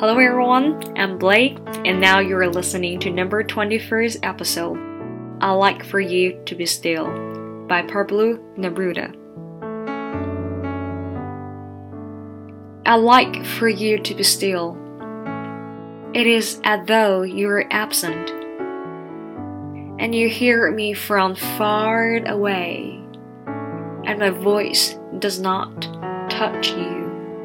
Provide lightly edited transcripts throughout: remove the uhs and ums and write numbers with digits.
Hello everyone, I'm Blake, and now you're listening to number 21st episode, I Like For You To Be Still, by Pablo Neruda. I like for you to be still. It is as though you're absent, and you hear me from far away, and my voice does not touch you.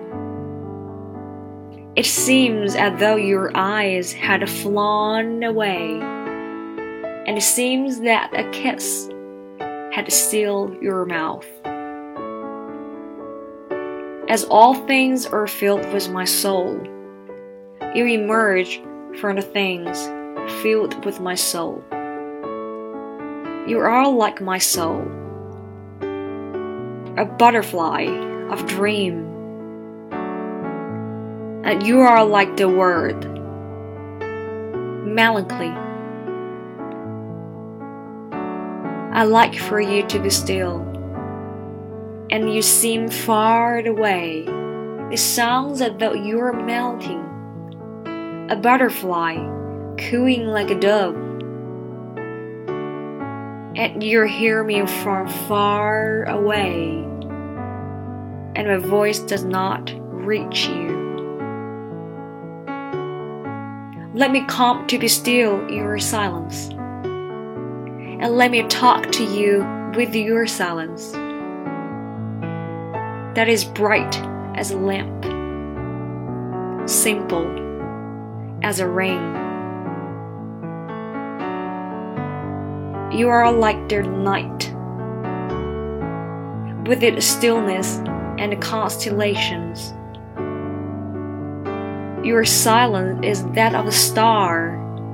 It seems as though your eyes had flown away, and it seems that a kiss had sealed your mouth. As all things are filled with my soul, you emerge from the things filled with my soul. You are like my soul, a butterfly of dream. And you are like the word, melancholy. I like for you to be still, and you seem far away. It sounds as though you are melting, a butterfly cooing like a dove, and you hear me from far away, and my voice does not reach you. Let me come to be still in your silence, and let me talk to you with your silence that is bright as a lamp, simple as a ring. You are like the night, with its stillness and the constellations. Your silence is that of a star,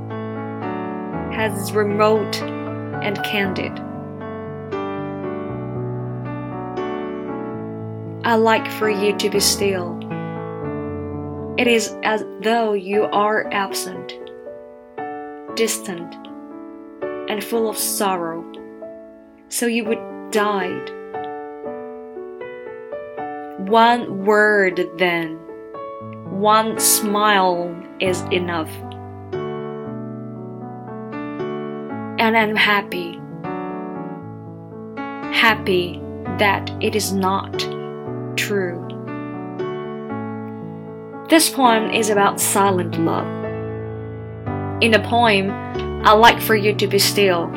as remote and candid. I like for you to be still. It is as though you are absent, distant, and full of sorrow, so you would died. One word then, one smile is enough. And I'm happy that it is not true. This poem is about silent love. In the poem, I like for you to be still,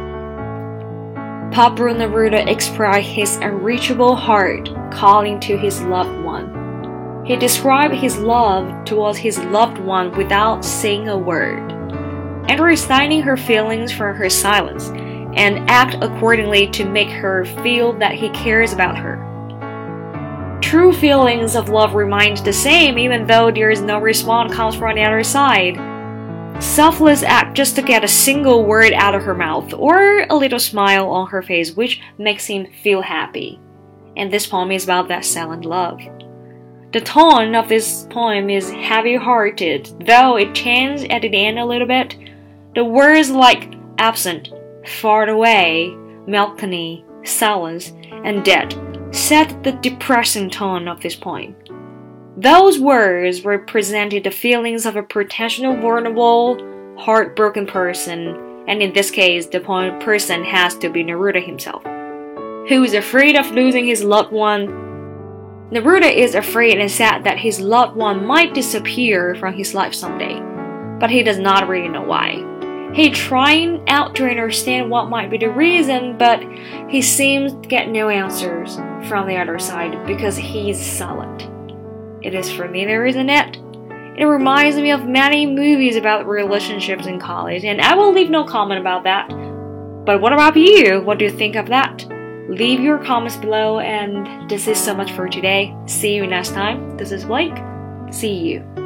Pablo Neruda expressed his unreachable heart calling to his loved one. He described his love towards his loved one without saying a word, and reciting her feelings from her silence, and act accordingly to make her feel that he cares about her. True feelings of love remain the same even though there is no response comes from the other side. Selfless act just to get a single word out of her mouth, or a little smile on her face which makes him feel happy. And this poem is about that silent love. The tone of this poem is heavy-hearted, though it changes at the end a little bit. The words like absent, far away, melancholy, silence, and dead set the depressing tone of this poem. Those words represented the feelings of a potential vulnerable, heartbroken person, and in this case, the person has to be Neruda himself, who is afraid of losing his loved one. Neruda is afraid and sad that his loved one might disappear from his life someday, but he does not really know why. He's trying out to understand what might be the reason, but he seems to get no answers from the other side because he's silent. It is familiar, isn't it? It reminds me of many movies about relationships in college, and I will leave no comment about that. But what about you? What do you think of that? Leave your comments below, and this is so much for today. See you next time. This is Blake. See you.